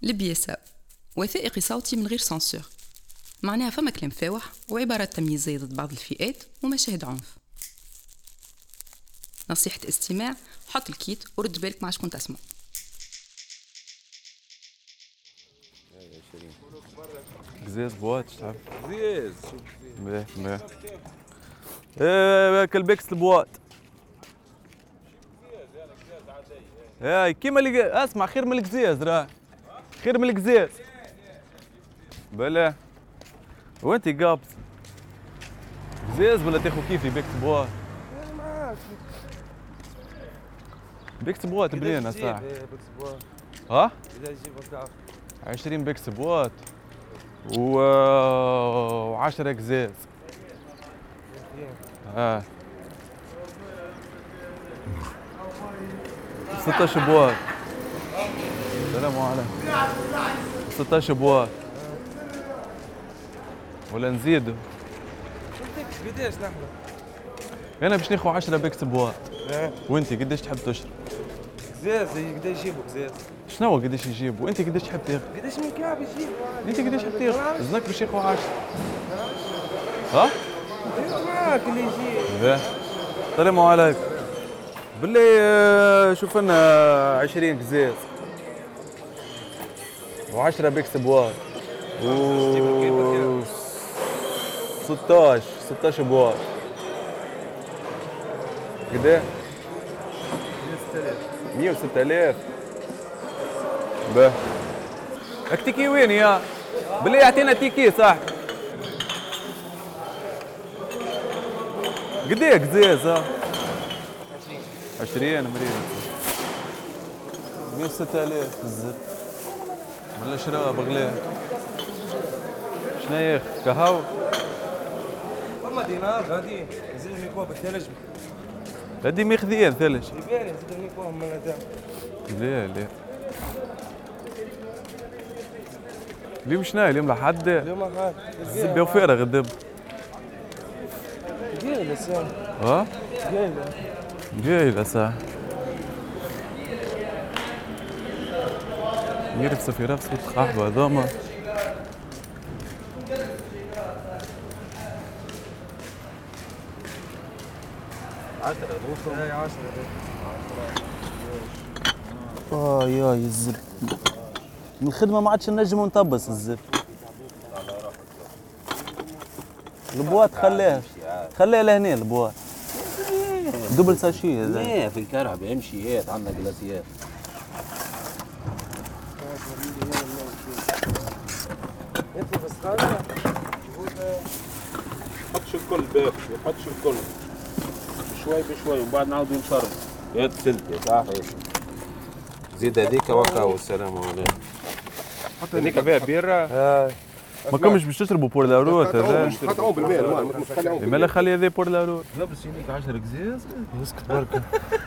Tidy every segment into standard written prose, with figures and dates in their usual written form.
البياسة وثائقي صوتي من غير سانسور، معناها فما كلام فاوح وعبارات تمييزية ضد بعض الفئات ومشاهد عنف. نصيحة استماع، حط الكيت ورد بالك مع شكون تسمع. قزاز بوات تعرف قزاز مليح ايه كلبكس البوات اي كيما اللي اسمع خير من القزاز راه خير من القزاز بلا وانت قابض قزاز ولا تاخذ كيفي بيكس بوات بيكس بوات بنينه صح ها 20 بيكس بوات و10 قزاز 16 بوات. السلام عليكم. 16 بوات ولا نزيدوا؟ قداش نحن؟ انا باش ناخذ 10 بيكس بوات. وانت قداش تحب تشرب؟ قزاز قداش يجيبوا قزاز؟ شنو قداش يجيبوا؟ انت قداش تحب تاخذ؟ قداش من كعب يجيبوا؟ انت قداش تحب تاخذ؟ زنك باش ياخذ 10. ها؟ معاك اللي يجي. السلام عليكم. بالله شوف لنا 20 قزاز و10 بيكس بوات و 16 بوات. قداه؟ 106,000. باه التيكي وين يا؟ بالله يعطينا تيكي صح؟ قداه قزاز ها؟ 20 مريض 106,000 الزر ولا شراب غلاه. شنو ياخذ؟ قهوة؟ والله دينار غادي نزيد الميكواب بالثلج. هادي ماخذين ثلج. يبان نزيد الميكواب من هذا. لا اليوم شنو اليوم لحد؟ اليوم حد الزبده وفارغ الدب. قايله ساعة. ها؟ قايله ساعة. يرفسوا في رفسة قحبة هذوما. يا الزب من الخدمة ما عادش نجم نطبس الزب. البوات خليها لهنا البوات. دبل ساشي هذا. ايه في الكرهب امشيات عندنا جلاسيات. انت بس قاعدة حطش الكل باك حطش الكل شوي بشوي وبعد نعاود نشرب. يا تلتي صحيح. زيد هذيك وكا والسلام عليكم. هذيك فيها بيرة. ما كنتش باش تشربوا بور لا روت هذا. حطوا بالماء. لما خلي هذا بور لا روت. لا بس يجيك 10 قزاز. اسكت بركة.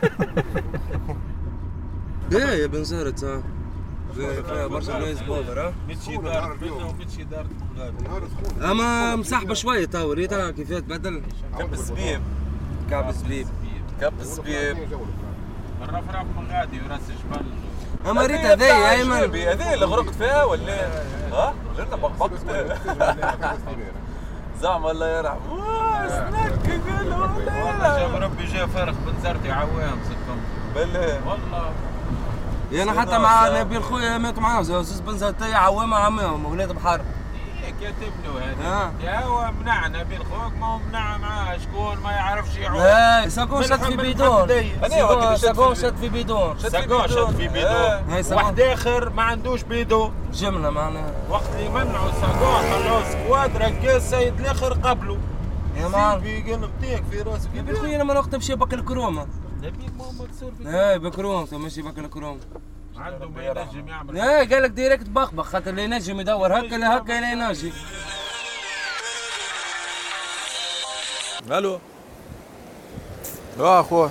ايه يا بن زهرة صح. فيها برشا ناس بودر. متشي دار بيتنا ومتشي دار الغابة. اما مسحبة شوية تو ريتها كيفاه تبدل. كعب الزبيب. كعب الزبيب. كعب الزبيب. الرفرف من غادي وراس جبل. اما ريتها ذي يا ايمن. هذه اللي غرقت فيها ولا؟ ها؟ غيرنا بقبقت. زعما الله يرحم. سنك قالوا والله جاب ربي جا فارغ بنزرتي عوام سكم. بالله والله. انا حتى مع نبيل خويا مات معاه زوز بنزرتي عوامة عمهم ولاد بحر. كاتب له هذا. يا هو منع نبيل خوك ما هو منع معاه شكون ما يعرفش يعوم. اي ساقون شد في بيدون. ساقون شد في بيدون. ساقون شد في بيدون. واحد اخر ما عندوش بيدون. جملة معناها. وقت اللي منعوا ساقون خلوه سكواد ركز سيد الاخر قبله. يا مان. في قلبتيك في راسك. نبيل خويا انا ما وقت مشي باكل كرومة. نبيك ما تصير في. اي بكروم ماشي باكل كروم. عنده ما ينجم يعمل. اي قال لك ديريكت بخبخ خاطر اللي ينجم يدور هكا لا هكا لا ينجم. الو اخويا.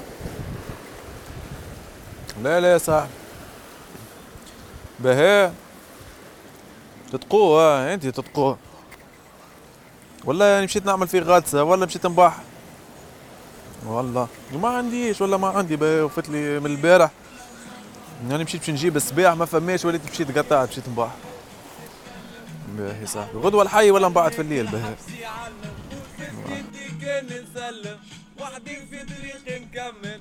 لا يا صاحبي. بهاء تتقوه انت تتقوه. والله يعني مشيت نعمل فيه غطسه ولا مشيت نبح. والله ما عنديش ولا ما عندي بهاء وفت لي من البارح يعني مشيت باش نجيب السباع ما فماش وليت مشيت قطعت مشيت نباح. باهي صاحبي غدوة الحي ولا نبعد في الليل باهي. نسلم وحدي في طريقي نكمل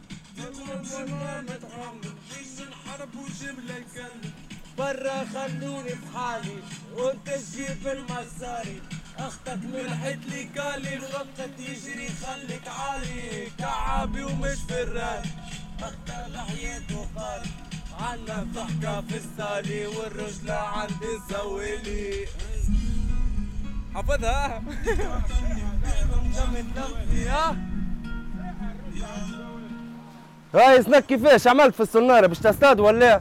نحارب وجملة نكلم برا خلوني بحالي وانت تجيب المساري اختك ملحت لي كالي الخطة تجري خليك عالي كعابي ومش فراي اختك لحياته قاري عنا ضحكة في السالي والرجلة عندي سويلي حفظها هاي سنك كيفاش عملت في السنارة باش تصطاد ولا؟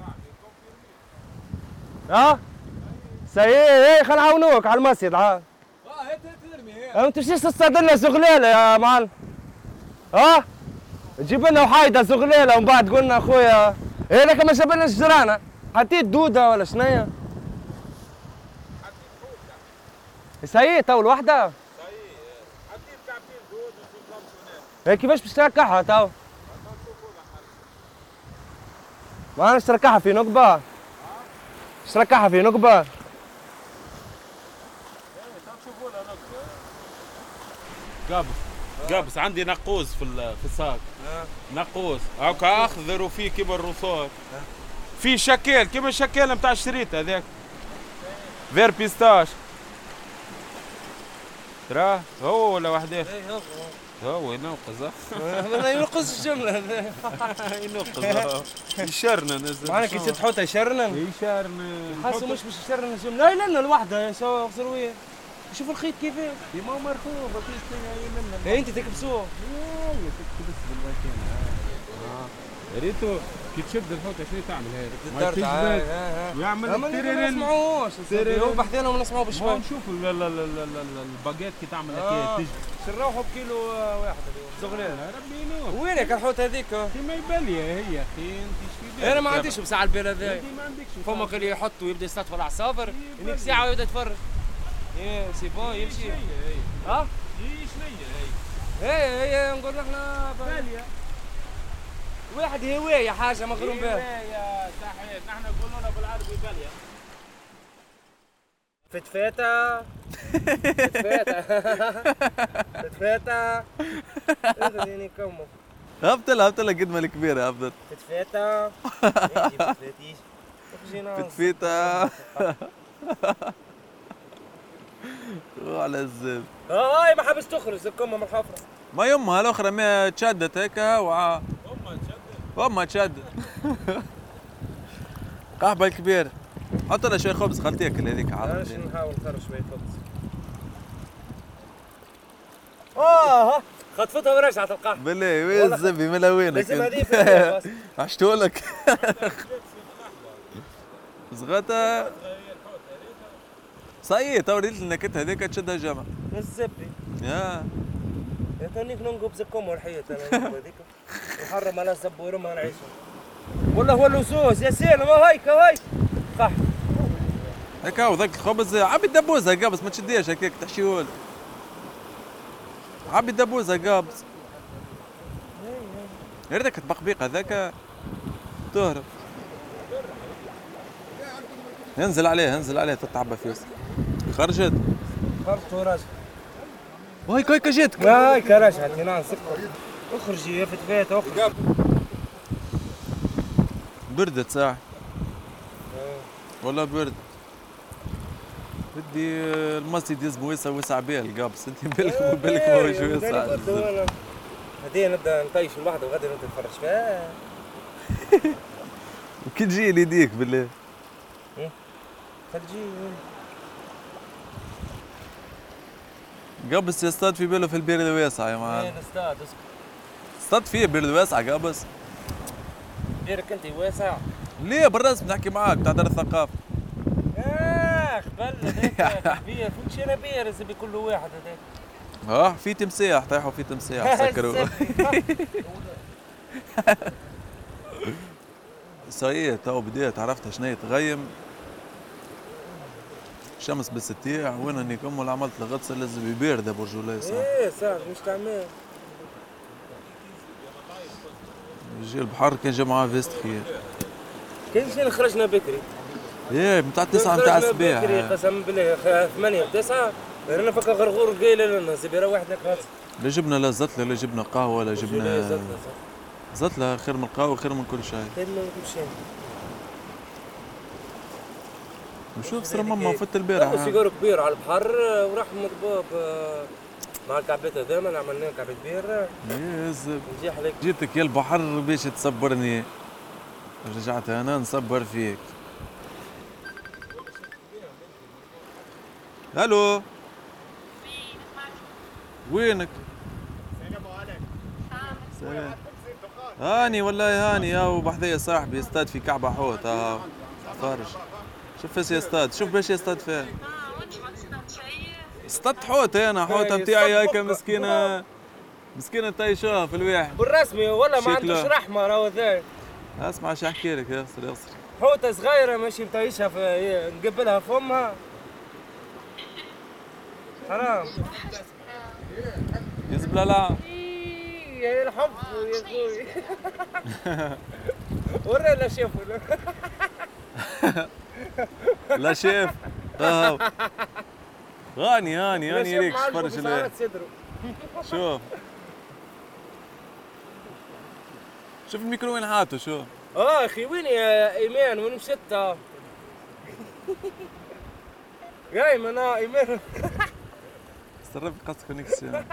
ها؟ سيء خل نعاونوك على المسجد ها؟ ما تمشيش تصطاد لنا زغلالة يا معلم. ها؟ تجيب لنا وحايدة زغلالة ومن بعد قلنا اخويا هذاك ما جاب لنا الجرانة حطيت دودة ولا شنيا؟ سيء تو الوحدة؟ حطيت كعبين دود هي كيفاش باش تركعها تو؟ ما انا تركعها في نقبة؟ تركعها في نقبة؟ قابس عندي نقوس في الساق. نقوس هاكا اخضر وفيه كيما الرصاص. في شكال كيما الشكال نتاع الشريط هذاك. فير بيستاش. تراه هو ولا وحده؟ هو ينقص. ما ينقص الجملة ينقص. يشرنا نزل. معناها كي تحطها يشرنا؟ يشرنا. حاسه مش باش يشرنا الجملة. لا لا الوحدة سوا غزروية. شوف الخيط كيفاه. ما هو مرخوب ما فيش منه. ايه انت تكبسوه. ايوه تكبس بالمكان. ريتو كي تشد الحوته شنو تعمل هذا؟ يعمل تيرين. ما نسمعوش هو بحثنا وما نسمعوه بشوي. نشوف الباقيت كي تعمل هكا تجي شراوحوا بكيلو واحد اليوم زغلال. ربي ينور. وينك الحوته هذيك؟ كيما يبلي هي اخي انت ايش في انا ما عنديش بساعة البير هذا. ما عندكش. فما اللي يحط ويبدا يصطاد في العصافر هذيك ساعة ويبدا يتفرج. ايه سي بون يمشي. ها؟ هي شنيا هي نقول احنا باليه واحد هوايه حاجه مغروم بها. هوايه صحيح نحن نقولوا لنا بالعربي باليه. فتفاته فتفاته خليني كمو هبطلها قد ما الكبيرة هبطت. فتفاته فتفاتيش فتفيتة على الزب. هاي ما حبس تخرج الكمه من الحفره. ما يمها الاخرى ما تشدت هيك امها تشدت. قحبه الكبير حط لها شوي خبز خلت تاكل هذيك عاد. عاد نحاول نخرج شوي خبز. خطفتها ورجعت القحبه. بالله وين الزبي من وينك؟ لازم هذه في بس. عشتولك. صغتها صحيح تو ريت النكت هذيك تشدها جمع. الزبي. يا تونيك ننقب زكم والحيط انا هذيك. نحرم على الزب ورمها نعيشها. ولا هو اللصوص يا سيدي ما هيك صح. هيك هو ذاك الخبز عبي الدبوزه قابس ما تشديش هكاك تحشيهولي. عبي الدبوزه قابس. يا ريتك تبقبيق هذاك تهرب. انزل عليه تتعبى فيه. خرجت ورجعت. هيك جاتك. هيك رجعت هنا نسكر. اخرجي يا فتفات اخرج. بردت ساعة والله برد. بدي المسجد يزبو وسع بال قابس انت بالك ما هو شو يسع. هدي نبدا نطيش الوحده وغدا نبدا نتفرج فيها. وكي تجي يديك بالله. تجي قابس يصطاد في باله في البير الواسع يا معلم. وين اصطاد؟ اصطاد فيه البير الواسع قابس. بيرك انت واسع؟ ليه بالرسم نحكي معاك تاع دار الثقافة. قبل هذاك كبير فوتش انا بير زي كل واحد هذاك. في تمساح طيحوا في تمساح سكروا. صحيح تو بديت عرفت شنو تغيم. الشمس بالستيع وين اني كمل عملت الغطسه لازم يبارد برجولي صح. ايه صح مش تعمل. يجي البحر كان جا معاه فيست خير. كان جينا خرجنا بكري. ايه متاع 9 متاع الصباح. بكري قسم بالله 8 و9 رانا فك غرغور قايل لنا سيبي روحنا كاس. لا جبنا لا زتله لا جبنا قهوه لا جبنا زتله خير من القهوه خير من كل شيء. خير من كل شيء. وشوف صار ماما فت البارح. سيجار كبير على البحر وراح مضبوب مع الكعبات هذوما عملنا كعبة بير. نجي عليك. جيتك يا البحر باش تصبرني. رجعت انا نصبر فيك. الو وينك؟ سلام. هاني والله هاني يا وبحذايا صاحبي يصطاد في كعبة حوت فرج. شوف ايش يصطاد شوف باش يصطاد فيها. اصطدت حوت انا حوتة متاعي هيك مسكينة مسكينة طيشوها في الواحد بالرسمي ولا ما عندوش رحمة راهو ذا. اسمع شو احكي لك ياسر حوتة صغيرة ماشي مطيشها في نقبلها فمها. حرام. يزبل لا يا الحب يا اخوي. ورا لا شافوا لا شاف هاني ليك فرش الواحد. شوف الميكرو وين حاطه شو. اخي وين يا ايمان وين مشيت؟ يا ايمان ايمان صرف قص كونيكسيون.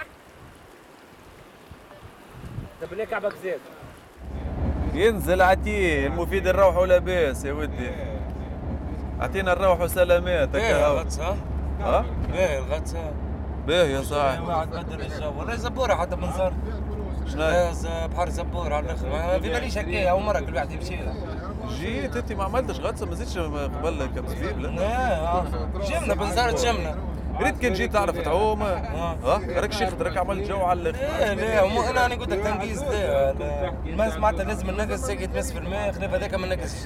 طب ليه كعبك زاد؟ ينزل عتيه المفيد الروح ولاباس يا ودي. اعطينا الروح وسلامات هكا الغطسه. باهي الغطسه. باهي يا صاحبي. ما عاد بدل الجو والله زبوره حتى منظر. شنو بحر زبور على الاخر ما في باليش هكايا اول مره كل واحد يمشي لها. جيت انت ما عملتش غطسه ما زدتش قبل كم زبيب لا جمنا بنزرت جمنا. ريت كان جيت تعرف تعوم راك شيخ راك عملت جو على الاخر. لا انا قلت لك تنقيس الماء معناتها لازم النقص ساقي تمس في الماء خلاف هذاك ما نقصش.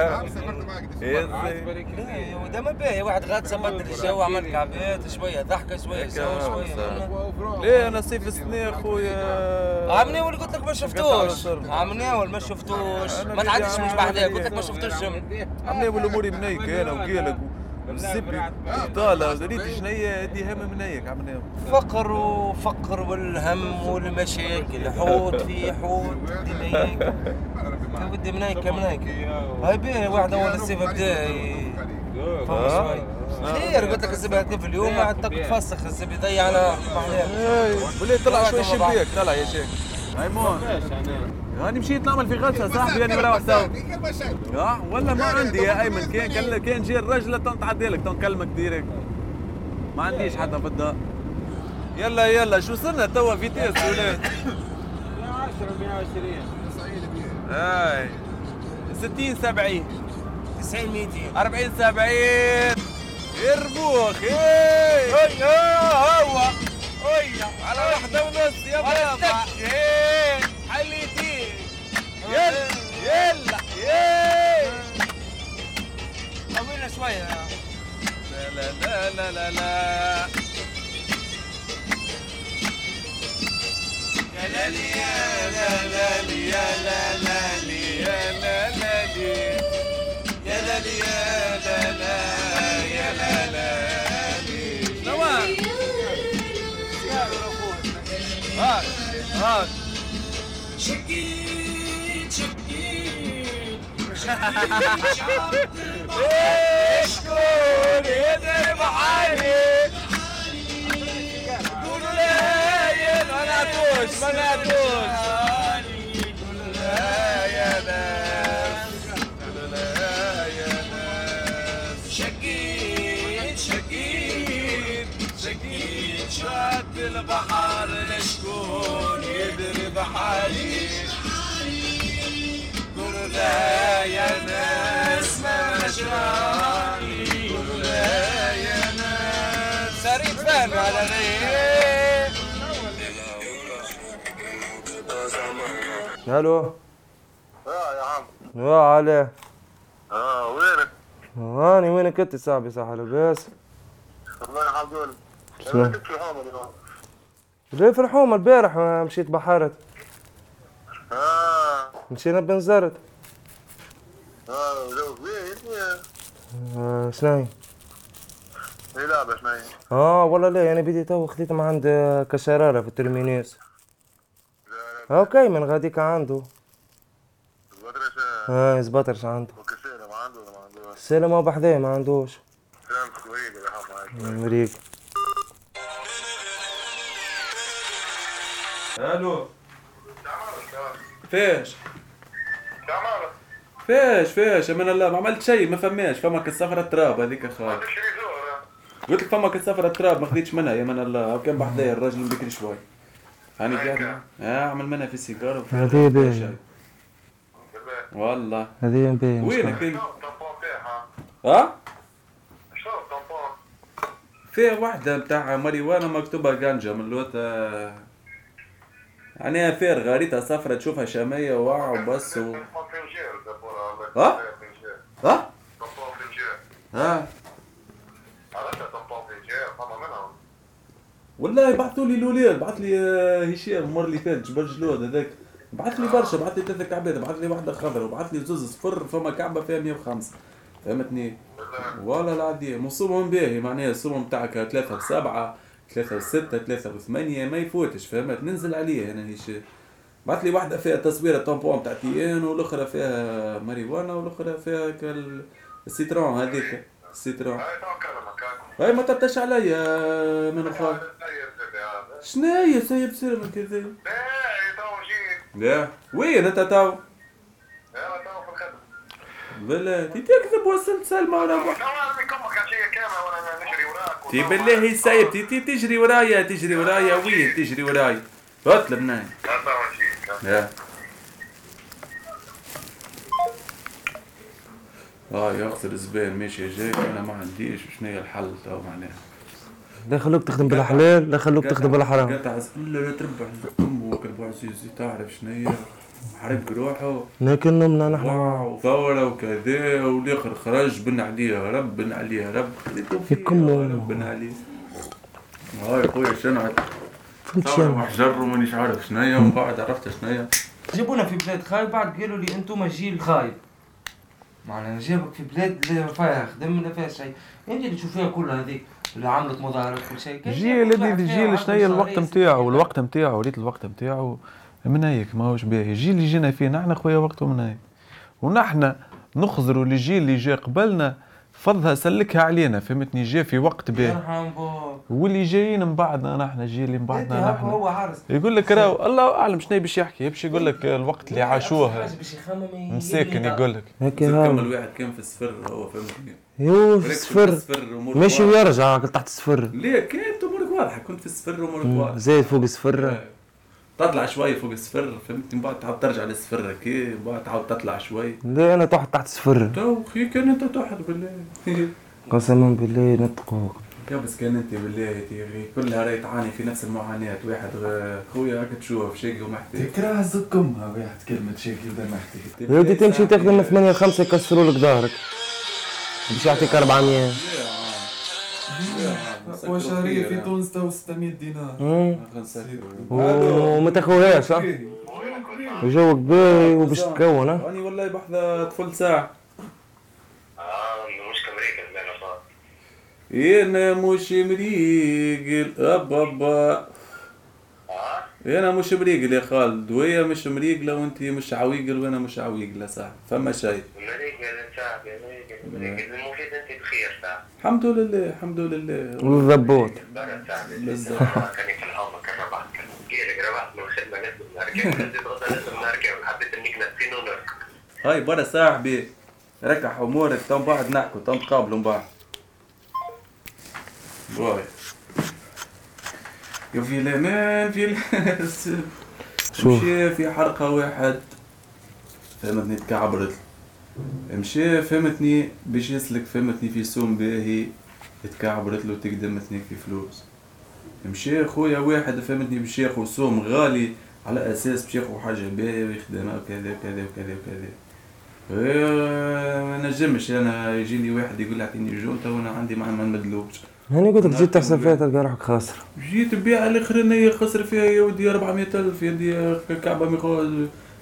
وده ما باهي واحد غطسه بدل الجو عمل كعبات شويه ضحكه شويه شويه. ليه انا صيف السنه خويا عمني ولا قلت لك ما شفتوش. عمني ولا ما شفتوش ما تعديش مش بحذاك قلت لك ما شفتوش جمل. عمني والامور منيك انا وقالك الزبي طالة ريت شنية دي هم منيك عملنا فقر والهم والمشاكل حوت في حوت منيك بدي منيك هاي بيه واحد اول الصيف بدا فهم شوي خير قلت لك الزبي هاتين في اليوم قاعد تفسخ الزبي يضيع على بلي طلع شوي شبيك طلع يا شيخ ميمون هاني مشيت نعمل في غطسه صاحبي انا مروح تو ولا ما عندي يا ايمن كان جي الرجله تعدي لك نكلمك ديريكت ما عنديش حتى في الدار. يلا شو صرنا توا فيتيس ولاد 110 120 هاي 60 70 90 200 40 70 يربوخ هو على واحدة ونص يا بابا حليتي يلا طولنا شوية لا يا لالي يا لالي يا لالي يا لالي يا لالي يا لالي نوار هاك شكيت شكون يضرب عالي قولوا لا ما نعطوش قولوا لا يا ناس قولوا لا يا ناس شكيت شاد البحر لشكون يضرب حالي قولوا لا يا ناس ما مجراني قولوا لا يا ناس سريت فهم على غير. الو يا عم يا علي وينك؟ هاني وينك انت صاحبي صح لاباس؟ والله عبدول شنو؟ كنت في حومه اليوم ليه في الحومه البارح مشيت بحرت مشينا بنزرت جو فيه شناهي؟ ايه لعبة شناهي؟ والله لا انا بدي تو خديت من عند كشرارة في الترمينيس. اوكي من غاديك عنده. زبطرش زبطرش عنده. وكسيرة ما عنده ولا ما عندوش؟ السلة ما بحذاه ما عندوش. سلامتك وريق يا حب معاك. مريق. الو فيش فيش من الله ما عملت شيء ما فماش فمك السفرة تراب هذيك اخوي قلت لك فمك السفرة تراب ما خديتش منها يا من الله كان بحذايا الراجل بكري شوي هاني قاعد اعمل منها في السيجاره هذه باهي والله هذه باهي وينك انت؟ ها؟ فيها واحدة بتاع ماريوانا مكتوبة جانجا من لوتا يعني فارغة ريتها صفرة تشوفها شامية وواع وبس ها؟ ها؟ ها؟ والله بعثوا لي الولاد بعث لي هشام المرة اللي فاتت جبل جلود هذاك بعث لي برشا بعث لي 3 كعبات بعث لي واحدة خضرا وبعث لي زوز صفر فما كعبة فيها 105 فهمتني؟ والله العظيم وصومهم باهي معناها الصوم بتاعك 3 ب7 3 ب6 3 ب8 ما يفوتش فهمت ننزل عليه انا هشام بعث لي واحدة فيها تصويرة طامبون بتاع تيان والاخرى فيها ماريوانا والاخرى فيها السيترون هذيك السيترون هاي ما تبتش عليا من اخويا شناهي سايب سير كذا لا وين انت تو بالله تكذب وصلت سلمى ولا تي بالله سايب تجري ورايا وين تجري ورايا اطلب ناي يا يخسر الزبائن ماشي جاي انا ما عنديش شنو هي الحل تو معناها لا خلوك تخدم بالحلال لا خلوك تخدم بالحرام قطع لا تربح امك ابو عزيز تعرف شنو هي حرق روحه لكننا نحن وثورة وكذا والاخر خرج بن عليها رب بن عليها رب يكمل بن عليه هاي خويا شنعت فهمت ثورة وحجر ومانيش عارف شنو هي ومن بعد عرفت شنو هي جابونا في بلاد خايب بعد قالوا لي انتم جيل خايب معناها جابك في بلاد لا فيها خدم لا فيها شيء انت اللي تشوفيها كلها هذيك اللي عملت مظاهرات كل شيء جيل شنو هي الوقت نتاعو الوقت نتاعو ريت الوقت نتاعو من هيك ماهوش باهي الجيل اللي جينا فيه نحن خويا وقته من هيك ونحن نخزروا للجيل اللي جا قبلنا فضها سلكها علينا فهمتني جا في وقت باهي واللي جايين من بعدنا نحن الجيل اللي من بعدنا نحن هو عارس يقول لك راهو الله اعلم شنو باش يحكي باش يقول لك الوقت اللي عاشوه مساكن يقول لك كمل واحد كان في الصفر هو فهمتني يو في الصفر ماشي ويرجع تحت الصفر ليه كانت امورك واضحه كنت في الصفر وامورك واضحه زايد فوق الصفر تطلع شوي فوق الصفر فهمتني بعد تعاود ترجع للصفر هكا بعد تعاود تطلع شوي لا انا تحت الصفر تو خي كان انت تحت بالله قسما بالله نطقوك يا بس كان انت بالله يا تيغي كلها راهي تعاني في نفس المعاناه واحد خويا هاك تشوف شاقي ومحتاج تكره زكمها واحد كلمه شاقي ولا محتاج يا ودي تمشي تخدم 8 5 يكسروا لك ظهرك باش يعطيك 400 اقوى شهريه في تونس تو 600 دينار وما تاخوهاش صح وجوك باهي وباش تكون راني والله بحذا طفل ساعه مش كامريكا زمان صار انا مش مريقل ابا انا مش مريقل يا خالد وهي مش مريقله وانت مش عويقل وانا مش عويقله صح فما شيء مريقل صاحبي مريقل المفيد انت بخير صح الحمد لله الحمد لله والضبوط بالضبط كان في الحومه كان ربحت كان ربحت من الخدمه لازم نركب لازم نركب حبيت انك نسينو نركب هاي برا صاحبي ركح امورك تم بعد نحكوا تم تقابلوا من بعد باي يا في الامان في مشي في حرقه واحد فهمتني تكعبرت مشي فهمتني باش يسلك فهمتني في سوم باهي تكعبرت له تقدمتني في فلوس مشي خويا واحد فهمتني باش ياخذ سوم غالي على اساس باش ياخذ حاجه باهيه ويخدمها وكذا وكذا وكذا وكذا ما نجمش انا يجيني واحد يقول لي اعطيني جونتا وانا عندي ما نمدلوش هاني قلت لك جيت تحسب فيها تلقى روحك خاسر جيت بيع الاخرانيه خسر فيها يا ودي 400,000 يا ودي كعبه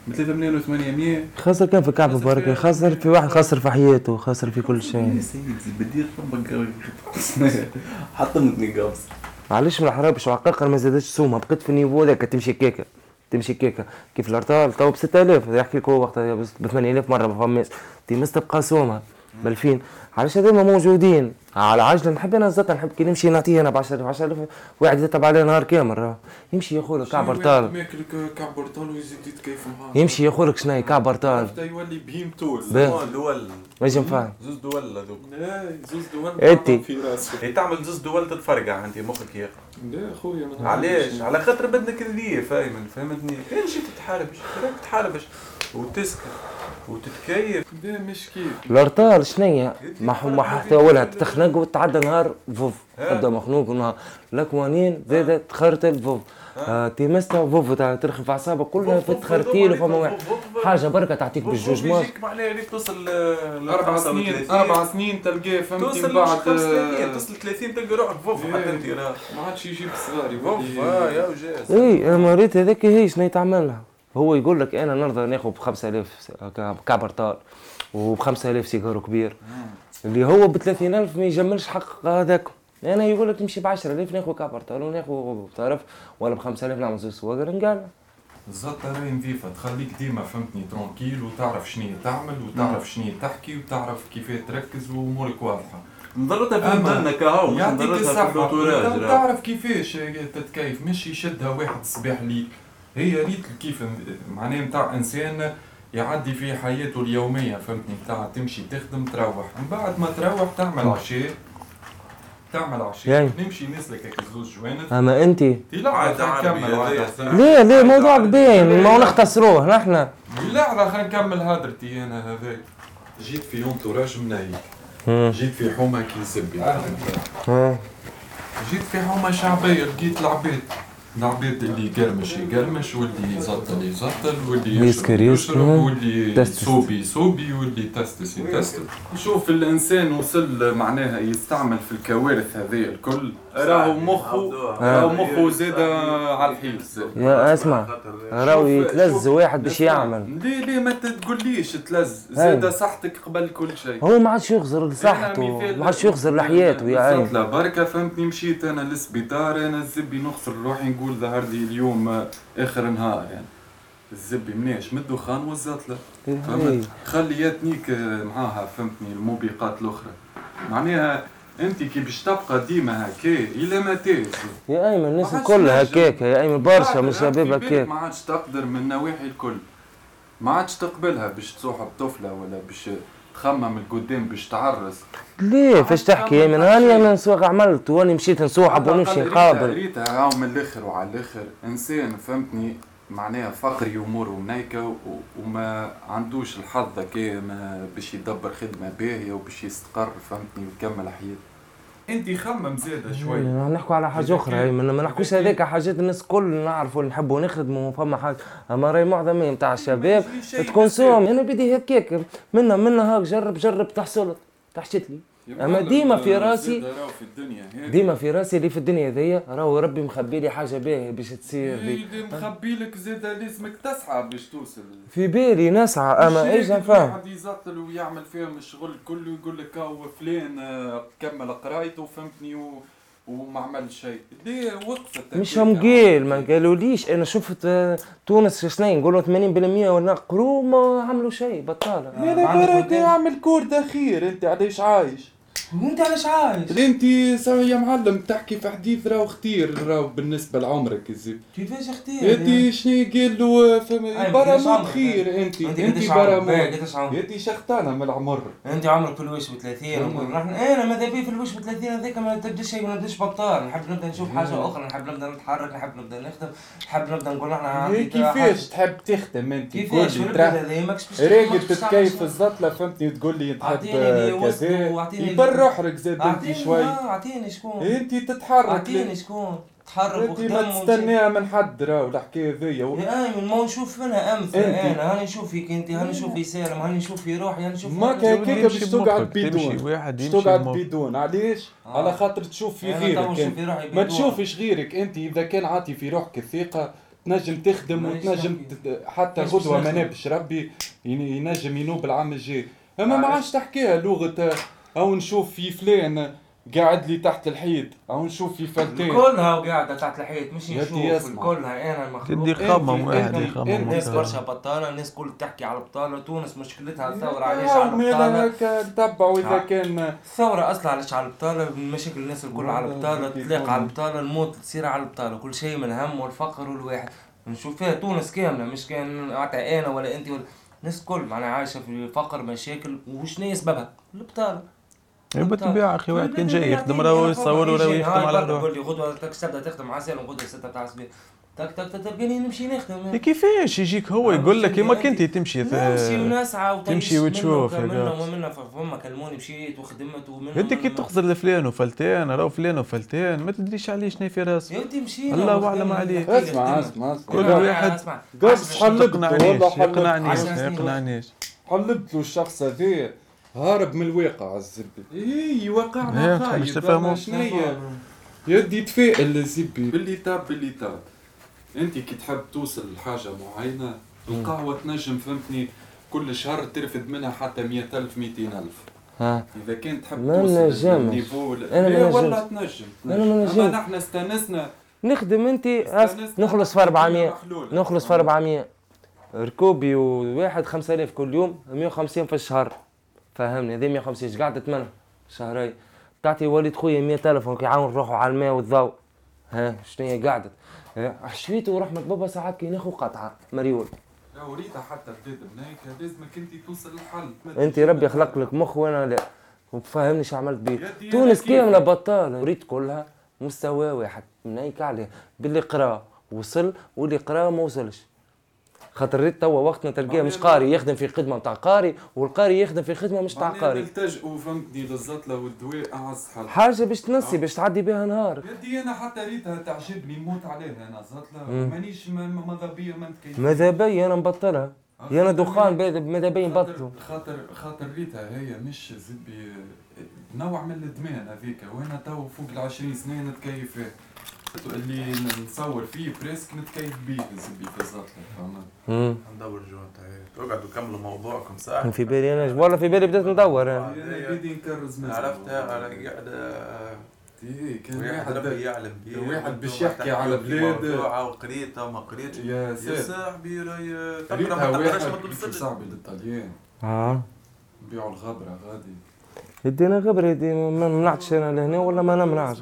ب 3 مليون و800. خسر كان في كعب مبارك، خسر في واحد، خسر في حياته، خسر في كل شيء. يا سيدي بدي ربك حطمتني قابس. معلش من الحرابش وعقاقر ما زادتش سومها، بقيت في النيفو ذاك تمشي كيكه تمشي كيكه كيف الارطال تو ب 6000 يحكي لك هو وقتها ب 8000 مره ما فماش تيمس تبقى سومها ب 2000. علاش هذوما موجودين على عجله. نحب انا زاد نحب كي نمشي نعطيه انا ب 10000 واحد يتبع عليه نهار كامل يمشي ياخذ كعب ارطال، ماكل كعب ارطال ويزيد يتكيف معاه، يمشي ياخذ لك شناهي كعب ارطال حتى يولي بهيم طول. دول ما يجي نفهم زوز دول هذوك. لا زوز دول انتي في راسك. هي تعمل زوز دول تتفرقع انت مخك يا اخي. لا خويا علاش؟ على خاطر بدك ذي فهمتني. كان شي تتحاربش راك تحاربش وتسكت وتتكيف. لا مش كيف الارطال شنيا ما حتى اولها تخنق وتعدى نهار فوف تبدا مخنوق ونهار لكوانين زادت تخرطل فوف تيمستا فوف ترخف اعصابك كلها في تخرتيل وفما واحد حاجه بركه تعطيك بالجوج مات. يجيك معناها اللي توصل 4 سنين 4 سنين تلقاه فهمتني من بعد توصل 30 تلقى روحك فوف حتى انت ما عادش يجيب صغار فوف يا وجاز. اي انا مريت هذاك هي شنو تعملها. هو يقول لك انا نرضى ناخذ ب 5000 كعب ارطال وب 5000 سيجارو كبير اللي هو ب 30000 ما يجملش حق هذاك. انا يقول لك تمشي ب 10000 ناخذ كعب ارطال وناخذ تعرف ولا ب 5000 نعمل زوج سواقر نقال الزطة راهي نظيفة تخليك ديما فهمتني ترونكيل وتعرف شنو تعمل وتعرف شنو تحكي وتعرف كيف تركز وامورك واضحة. نضرتها في مدلنا كهو مش نضرتها في الدكتوراه. تعرف كيفاش تتكيف مش يشدها واحد الصباح ليك. هي ريت كيف معناه نتاع انسان يعدي في حياته اليوميه فهمتني نتاع تمشي تخدم تروح من بعد ما تروح تعمل عشاء يعني. نمشي نسلك هيك زوج جوانب. اما انت لا نكمل ليه موضوعك باين ما نختصروه نحن. لا خلينا نكمل هدرتي انا هذاك. جيت في يوم توراج منايك جيت في حومه كي زبي جيت في حومه شعبيه لقيت العباد اللي يقرمش واللي يزطل واللي يشرب واللي يصوبي واللي يتستس. نشوف الانسان وصل معناها يستعمل في الكوارث هذه الكل راهو مخه زاد على الحيط. يا اسمع راهو يتلز واحد باش يعمل. ليه ما تقوليش تلز زاد صحتك قبل كل شيء. هو ما عادش يخزر لصحته ما عادش يخزر لحياته يا عيني. لا بركه فهمتني مشيت انا للسبيطار انا الزبي نخسر روحي نقول ظهر لي اليوم اخر نهار يعني الزبي مناش من الدخان والزطله فهمت خليتنيك معاها فهمتني الموبقات الاخرى معناها انت كي باش تبقى ديما هكا الى متى يا ايمن الناس الكل هكاك يا ايمن برشا من شباب هكاك ما عادش تقدر من النواحي الكل ما عادش تقبلها باش تصاحب طفله ولا باش تخمم القدام باش تعرس. ليه فاش تحكي يا ايمن هاني انا نسوق عملت واني مشيت نسوحب ونمشي نقابل. ريتها راهو من الاخر وعلى الاخر انسان فهمتني معناها فقري اموره منيكه وما عندوش الحظ كي باش يدبر خدمه باهيه وباش يستقر فهمتني ويكمل حياته. انت خمم زاده شوي. نحكوا على حاجه اخرى ما نحكوش هذاك حاجات الناس الكل نعرفوا نحبوا نخدموا فما حاجه اما راهي معظميه نتاع الشباب تكون سوم انا بدي هكاك منا هاك جرب تحشت لي اما ديما في راسي ديما في راسي اللي في الدنيا ذي راهو ربي مخبي لي حاجه باهيه باش تصير لي مخبي لك زاده لازمك تسعى باش توصل في بالي نسعى اما ايش نفهم واحد يزطل ويعمل فيهم الشغل كله ويقول لك هاو فلان كمل قرايته فهمتني وما عمل شيء. ليه وقفت مش هم قال ما قالوليش انا شفت تونس شنو نقولوا 80% ولا قروا ما عملوا شيء بطاله. انا برك اعمل كورد اخير انت علاش عايش؟ وانت علاش عايش؟ انت يا معلم تحكي في حديث راهو اختير راهو بالنسبه لعمرك الزين. كيفاش اختير؟ انت شنو قال له برا موت خير انت برا موت انت شختانه من العمر. انت عمرك في الوش ب 30 انا ماذا بي في الوش ب 30 هذاك ما تبداش شيء ما نبداش بطال نحب نبدا نشوف حاجه اخرى نحب نبدا نتحرك نحب نبدا نخدم نحب نبدا نقول احنا كيفاش تحب تخدم انت كيفاش راقد تتكيف الزطله فهمتني تقول لي تحب كذا يبر روحك زاد انت شوي. اعطيني شكون انت تتحرك اعطيني شكون تحرك انت ما تستناها من حد راهو الحكايه ذي يا ايمن ما نشوف منها امثله انا هاني نشوف فيك انت هاني نشوف في سالم هاني نشوف في روحي هاني نشوف ما كيك باش تقعد بدون باش تقعد بدون علاش على خاطر تشوف في غيرك ما تشوفش غيرك انت اذا كان عاطي في روحك الثقه تنجم تخدم وتنجم حتى غدوة ما نابش ربي ينجم ينوب العام الجاي. اما ما عادش تحكيها لغة او نشوف في فلان قاعد لي تحت الحيط او نشوف في فلتان كلها وقاعده تحت الحيط مش نشوف كلها. انا مخلوق تدي خمم واحد يخمم. الناس برشا بطاله، الناس كل تحكي على البطاله. تونس مشكلتها الثوره علاش على البطاله. هكا نتبعوا اذا كان الثوره اصلا علاش على البطاله، مشاكل الناس الكل على البطاله، تلاقى على البطاله، الموت تصير على البطاله، كل شيء من الهم والفقر والواحد. نشوف فيها تونس كامله، مش كان انا ولا انت ولا الناس كل معناها عايشه في فقر مشاكل. وشنو سببها؟ البطاله. بالطبيعة أخي واحد كان جاي يخدم راهو يصور وراهو يخدم على روحه. يقول لي غدوة تبدأ تخدم عسل وغدوة 6 تاع الصباح تك تلقاني نمشي نخدم. كيفاش يجيك هو يقول لك كيما كنتي تمشي ونسعى تمشي وتشوف ومنا فما كلموني مشيت وخدمت ومن انت كي تخزر لفلان وفلتان راهو فلان وفلتان ما تدريش عليه شنو في راسه. يا مشينا الله اعلم عليك. اسمع كل واحد قص يقنعنيش حلبت له الشخص هذا هارب من الواقع الزبي. اي واقعنا خايب. مش تفهموا شنيا يدي تفائل الزبي باللي تاب. انت كي تحب توصل لحاجه معينه القهوه تنجم فهمتني كل شهر ترفد منها حتى 100,000 200,000. اذا كنت تحب توصل للنيفو والله تنجم. اما نحن استانسنا نخدم. انت نخلص في 400 نخلص في 400 ركوبي وواحد 5000 كل يوم 150 في الشهر. فهمني هذه 150 ايش قاعده تمنى شهرين تعطي وليد خويا 100,000 ويعاون روحه على الماء والضوء. ها شنو هي قاعده حشويته ورحمه بابا ساعات كي ناخذ قطعه مريول. لا وريتها حتى بلاد بنايك لازمك انت توصل للحل. انت ربي خلق لك مخ وانا لا. وفهمني شو عملت بيه. تونس كامله بطاله وريت كلها مستوى واحد بنايك عليه باللي قرا وصل واللي قرا ما وصلش. خاطر ريت توا وقتنا تلقاه مش قاري يخدم في خدمه نتاع قاري والقاري يخدم في خدمه مش تاع قاري. نلتجئوا فهمتني للزطله والدواء اعز حل. حاجه باش تنسي باش تعدي بها نهار. يدي انا حتى ريتها تعجبني نموت عليها انا زطله مانيش ماذا بيا ما نتكيف. ماذا بيا انا مبطلها. انا دخان ماذا بيا نبطلوا. خاطر ريتها هي مش زبي نوع من الادمان هذيك وانا تو فوق ال20 سنه نتكيف فيه. اللي نصور فيه بريسك نتكيف بيه زبي في الزطله فهمت. ندور جوا تقعدوا كملوا موضوعكم ساعه. في بالي انا والله في بالي بديت ندور انا بدي نكرز عرفتها على قاعده. كان واحد ربي يعلم بيه واحد باش يحكي على بلاد وقريتها وما قريتش يا صاحبي راهي تقرا ما تقراش ما توصلش. صاحبي للطليان نبيعوا الغبره غادي يدينا غبره يدي ما منعتش انا لهنا ولا ما نمنعش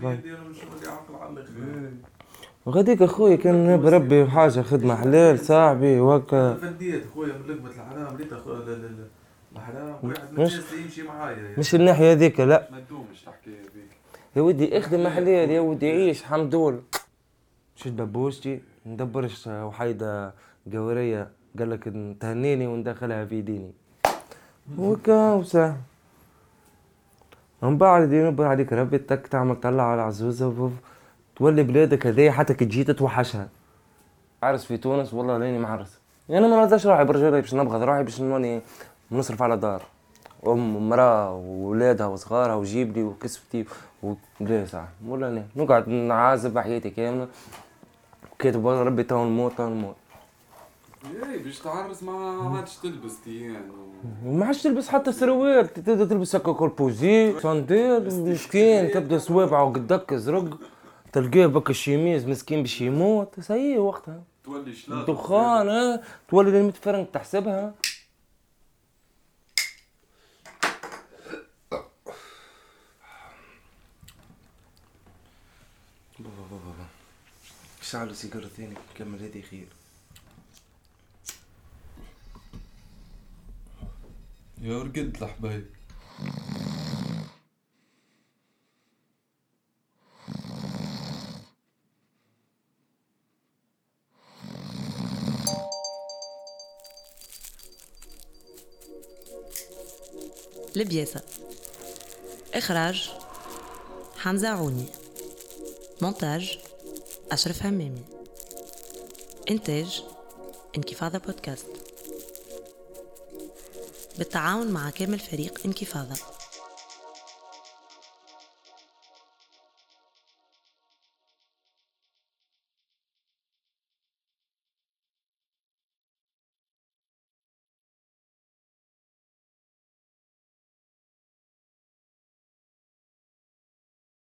غاديك اخويا كان بربي حاجه خدمه حلال صاحبي وهكا. فديت خويا من لقمه الحرام ريت الحرام واحد يمشي معايا مش الناحيه هذيك لا. ما تدومش تحكي هذيك يا ودي اخدم حلال يا ودي عيش حمدول. شد بابوشتي ندبرش وحيده قوريه قال لك تهنيني وندخلها في ديني وكا وسع من بعد ينبر عليك ربي تك تعمل طلع على عزوزه تولي بلادك هذيا حتى كي تجي تتوحشها. عرس في تونس والله لاني معرس. انا ما نرضاش روحي برجولي باش نبغض روحي باش نوني نصرف على دار ومراه وولادها وصغارها وجيب لي وكسبتي ولا ساعه ولا انا نقعد نعازب حياتي كامله وكاتب ربي تو نموت. اي باش تعرس ما عادش تلبس تيان وما عادش تلبس حتى سروال تبدا تلبس هكا كولبوزي صنديل مسكين تبدا صوابعه قدك زرق تلقاه بك الشيميز مسكين باش يموت. سي وقتها تولي شلاط دخان تولي ل 100 فرنك تحسبها. بابا شعلوا سيجارتين كمل هذه خير. يا ورقد الحبايب لبياسة. إخراج حمزة عوني. مونتاج أشرف همامي. إنتاج انكفاضة بودكاست بالتعاون مع كامل فريق انكفاضة.